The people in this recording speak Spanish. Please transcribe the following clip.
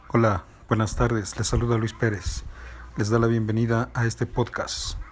Hola, buenas tardes. Les saluda Luis Pérez. Les da la bienvenida a este podcast.